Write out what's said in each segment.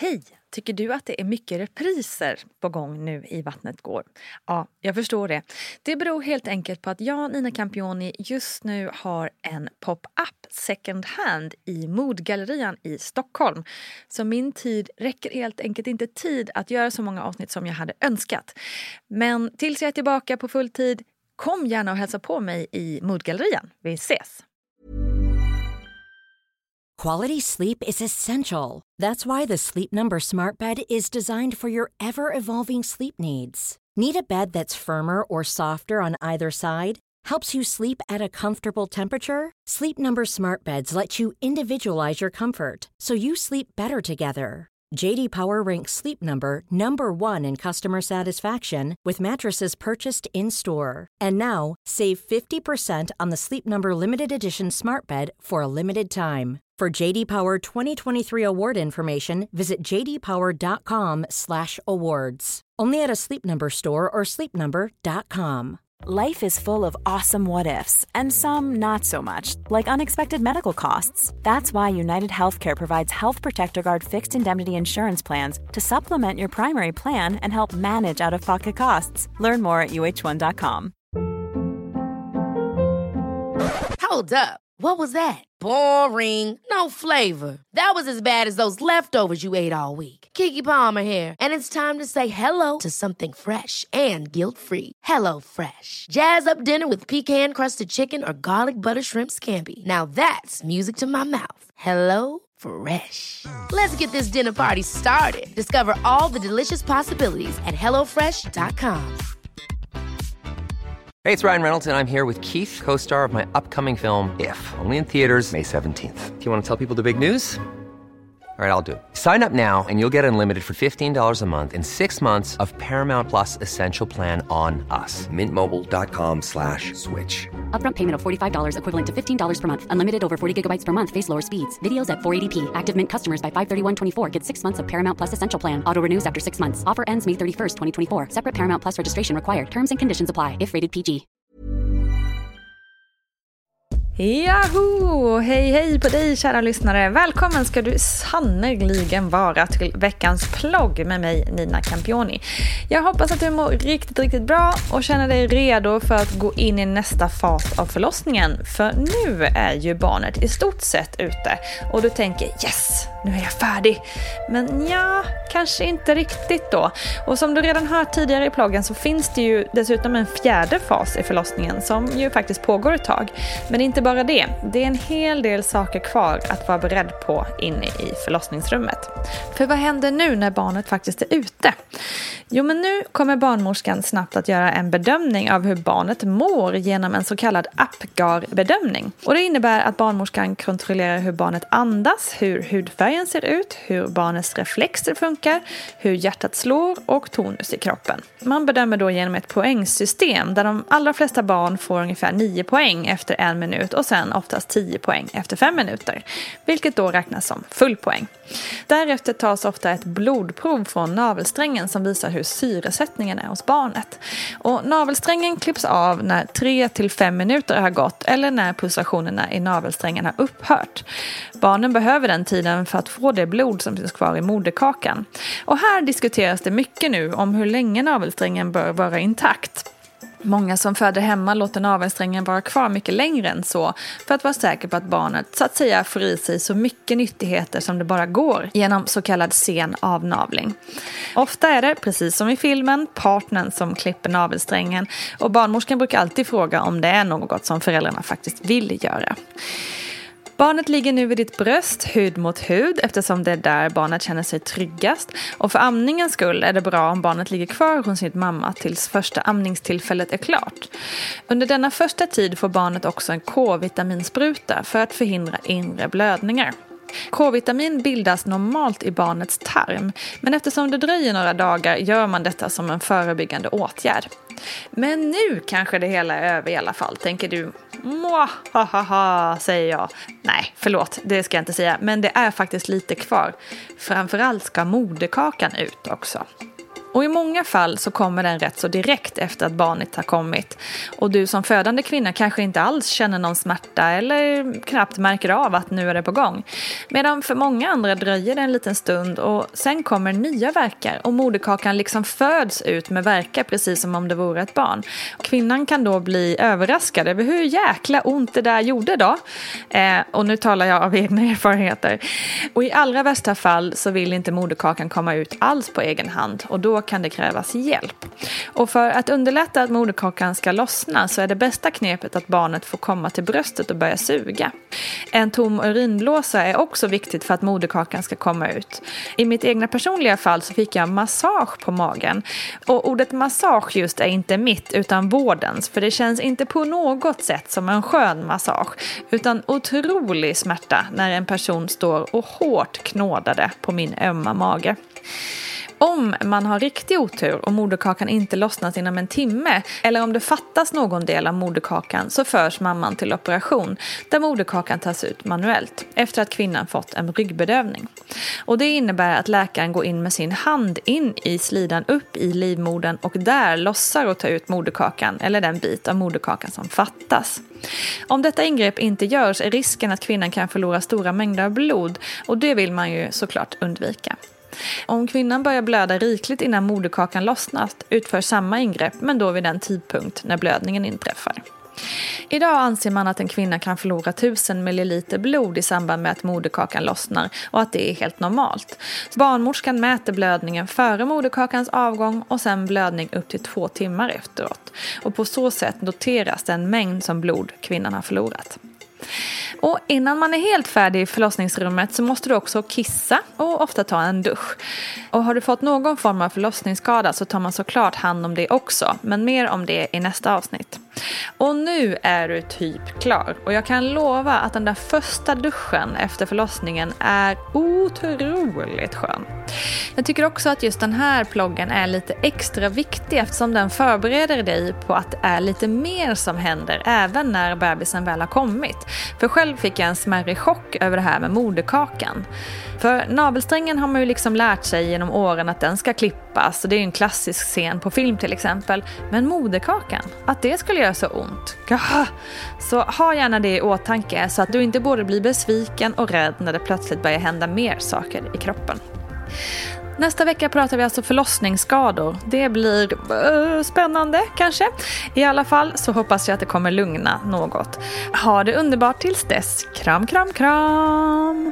Hej! Tycker du att det är mycket repriser på gång nu i Vattnet går? Ja, jag förstår det. Det beror helt enkelt på att jag, Nina Campioni, just nu har en pop-up second hand i Modgallerian i Stockholm. Så min tid räcker helt enkelt inte tid att göra så många avsnitt som jag hade önskat. Men tills jag är tillbaka på full tid, kom gärna och hälsa på mig i Modgallerian. Vi ses! Quality sleep is essential. That's why the Sleep Number Smart Bed is designed for your ever-evolving sleep needs. Need a bed that's firmer or softer on either side? Helps you sleep at a comfortable temperature? Sleep Number Smart Beds let you individualize your comfort, so you sleep better together. J.D. Power ranks Sleep Number number 1 in customer satisfaction with mattresses purchased in-store. And now, save 50% on the Sleep Number Limited Edition Smart Bed for a limited time. For JD Power 2023 award information, visit jdpower.com/awards. Only at a Sleep Number store or sleepnumber.com. Life is full of awesome what-ifs, and some not so much, like unexpected medical costs. That's why United Healthcare provides Health Protector Guard fixed indemnity insurance plans to supplement your primary plan and help manage out-of-pocket costs. Learn more at uh1.com. Hold up. What was that? Boring. No flavor. That was as bad as those leftovers you ate all week. Keke Palmer here, and it's time to say hello to something fresh and guilt-free. Hello Fresh. Jazz up dinner with pecan-crusted chicken or garlic butter shrimp scampi. Now that's music to my mouth. Hello Fresh. Let's get this dinner party started. Discover all the delicious possibilities at hellofresh.com. Hey, it's Ryan Reynolds, and I'm here with Keith, co-star of my upcoming film, If, only in theaters May 17th. Do you want to tell people the big news? All right, I'll do it. Sign up now and you'll get unlimited for $15 a month and 6 months of Paramount Plus Essential Plan on us. MintMobile.com/switch. Upfront payment of $45 equivalent to $15 per month. Unlimited over 40 gigabytes per month. Face lower speeds. Videos at 480p. Active Mint customers by 531.24 get 6 months of Paramount Plus Essential Plan. Auto renews after 6 months. Offer ends May 31st, 2024. Separate Paramount Plus registration required. Terms and conditions apply if rated PG. Yahoo! Hej hej på dig kära lyssnare. Välkommen ska du sannoliken vara till veckans plogg med mig Nina Campioni. Jag hoppas att du mår riktigt bra och känner dig redo för att gå in i nästa fas av förlossningen. För nu är ju barnet i stort sett ute och du tänker yes, nu är jag färdig. Men ja, kanske inte riktigt då. Och som du redan hört tidigare i ploggen så finns det ju dessutom en fjärde fas i förlossningen som ju faktiskt pågår ett tag. Men inte bara det. Det är en hel del saker kvar att vara beredd på inne i förlossningsrummet. För vad händer nu när barnet faktiskt är ute? Jo, men nu kommer barnmorskan snabbt att göra en bedömning av hur barnet mår genom en så kallad Apgar-bedömning. Och det innebär att barnmorskan kontrollerar hur barnet andas, hur hudfärgen ser ut, hur barnets reflexer funkar, hur hjärtat slår och tonus i kroppen. Man bedömer då genom ett poängsystem där de allra flesta barn får ungefär 9 poäng efter 1 minut och sen oftast 10 poäng efter 5 minuter, vilket då räknas som full poäng. Därefter tas ofta ett blodprov från navelsträngen som visar hur syresättningen är hos barnet. Och navelsträngen klipps av när 3-5 minuter har gått eller när pulsationerna i navelsträngen har upphört. Barnen behöver den tiden för att få det blod som finns kvar i moderkakan. Och här diskuteras det mycket nu om hur länge navelsträngen bör vara intakt. Många som föder hemma låter navelsträngen vara kvar mycket längre än så för att vara säker på att barnet så att säga får i sig så mycket nyttigheter som det bara går genom så kallad sen avnavling. Ofta är det, precis som i filmen, partnern som klipper navelsträngen och barnmorskan brukar alltid fråga om det är något som föräldrarna faktiskt vill göra. Barnet ligger nu vid ditt bröst, hud mot hud, eftersom det är där barnet känner sig tryggast. Och för amningens skull är det bra om barnet ligger kvar hos sin mamma tills första amningstillfället är klart. Under denna första tid får barnet också en K-vitaminspruta för att förhindra inre blödningar. K-vitamin bildas normalt i barnets tarm, men eftersom det dröjer några dagar gör man detta som en förebyggande åtgärd. Men nu kanske det hela är över i alla fall, tänker du. Hahaha, säger jag. Nej, förlåt, det ska jag inte säga. Men det är faktiskt lite kvar. Framförallt ska moderkakan ut också. Och i många fall så kommer den rätt så direkt efter att barnet har kommit. Och du som födande kvinna kanske inte alls känner någon smärta eller knappt märker av att nu är det på gång. Medan för många andra dröjer det en liten stund och sen kommer nya värkar och moderkakan liksom föds ut med värkar precis som om det vore ett barn. Och kvinnan kan då bli överraskad över hur jäkla ont det där gjorde då. Och nu talar jag av egna erfarenheter. Och i allra värsta fall så vill inte moderkakan komma ut alls på egen hand och då kan det krävas hjälp. Och för att underlätta att moderkakan ska lossna så är det bästa knepet att barnet får komma till bröstet och börja suga. En tom urinblåsa är också viktigt för att moderkakan ska komma ut. I mitt egna personliga fall så fick jag massage på magen. Och ordet massage just är inte mitt utan vårdens, för det känns inte på något sätt som en skön massage utan otrolig smärta när en person står och hårt knådade på min ömma mage. Om man har riktig otur och moderkakan inte lossnat inom en timme eller om det fattas någon del av moderkakan så förs mamman till operation där moderkakan tas ut manuellt efter att kvinnan fått en ryggbedövning. Och det innebär att läkaren går in med sin hand in i slidan upp i livmodern och där lossar och tar ut moderkakan eller den bit av moderkakan som fattas. Om detta ingrepp inte görs är risken att kvinnan kan förlora stora mängder av blod och det vill man ju såklart undvika. Om kvinnan börjar blöda rikligt innan moderkakan lossnat utför samma ingrepp men då vid den tidpunkt när blödningen inträffar. Idag anser man att en kvinna kan förlora 1000 ml blod i samband med att moderkakan lossnar och att det är helt normalt. Barnmorskan mäter blödningen före moderkakans avgång och sen blödning upp till 2 timmar efteråt. Och på så sätt noteras den mängd som blod kvinnan har förlorat. Och innan man är helt färdig i förlossningsrummet så måste du också kissa och ofta ta en dusch. Och har du fått någon form av förlossningsskada så tar man såklart hand om det också, men mer om det i nästa avsnitt. Och nu är du typ klar och jag kan lova att den där första duschen efter förlossningen är otroligt skön. Jag tycker också att just den här ploggen är lite extra viktig eftersom den förbereder dig på att det är lite mer som händer även när bebisen väl har kommit. För själv fick jag en smärre chock över det här med moderkakan. För navelsträngen har man ju liksom lärt sig genom åren att den ska klippas och det är ju en klassisk scen på film till exempel. Men moderkakan, att det skulle göra så ont. Så ha gärna det i åtanke så att du inte både blir besviken och rädd när det plötsligt börjar hända mer saker i kroppen. Nästa vecka pratar vi alltså förlossningsskador. Det blir spännande kanske. I alla fall så hoppas jag att det kommer lugna något. Ha det underbart tills dess. Kram, kram, kram!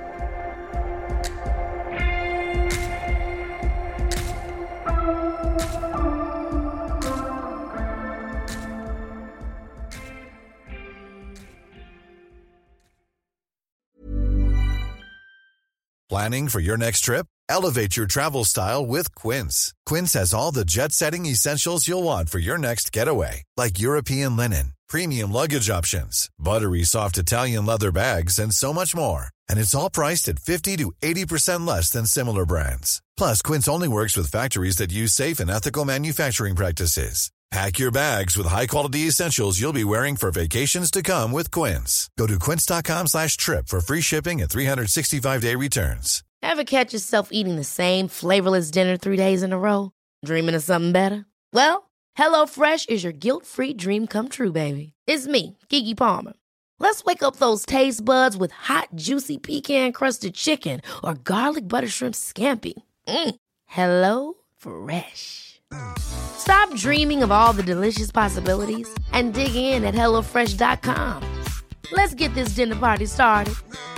Planning for your next trip? Elevate your travel style with Quince. Quince has all the jet-setting essentials you'll want for your next getaway, like European linen, premium luggage options, buttery soft Italian leather bags, and so much more. And it's all priced at 50 to 80% less than similar brands. Plus, Quince only works with factories that use safe and ethical manufacturing practices. Pack your bags with high-quality essentials you'll be wearing for vacations to come with Quince. Go to quince.com/trip for free shipping and 365-day returns. Ever catch yourself eating the same flavorless dinner 3 days in a row? Dreaming of something better? Well, HelloFresh is your guilt-free dream come true, baby. It's me, Keke Palmer. Let's wake up those taste buds with hot, juicy pecan-crusted chicken or garlic butter shrimp scampi. Hello Fresh. Stop dreaming of all the delicious possibilities and dig in at HelloFresh.com. Let's get this dinner party started.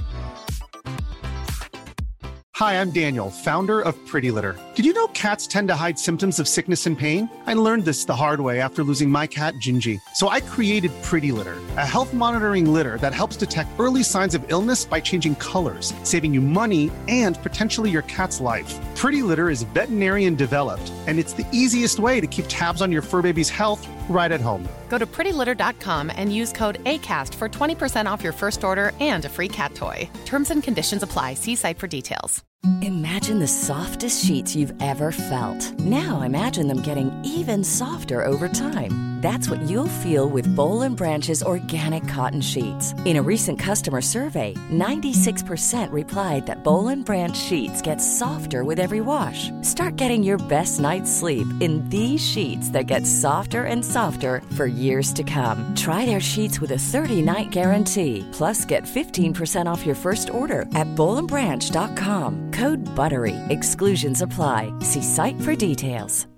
Hi, I'm Daniel, founder of Pretty Litter. Did you know cats tend to hide symptoms of sickness and pain? I learned this the hard way after losing my cat, Gingy. So I created Pretty Litter, a health monitoring litter that helps detect early signs of illness by changing colors, saving you money and potentially your cat's life. Pretty Litter is veterinarian developed, and it's the easiest way to keep tabs on your fur baby's health right at home. Go to prettylitter.com and use code ACAST for 20% off your first order and a free cat toy. Terms and conditions apply. See site for details. Imagine the softest sheets you've ever felt. Now imagine them getting even softer over time. That's what you'll feel with Boll & Branch's organic cotton sheets. In a recent customer survey, 96% replied that Boll & Branch sheets get softer with every wash. Start getting your best night's sleep in these sheets that get softer and softer for years to come. Try their sheets with a 30-night guarantee. Plus, get 15% off your first order at bollandbranch.com. Code BUTTERY. Exclusions apply. See site for details.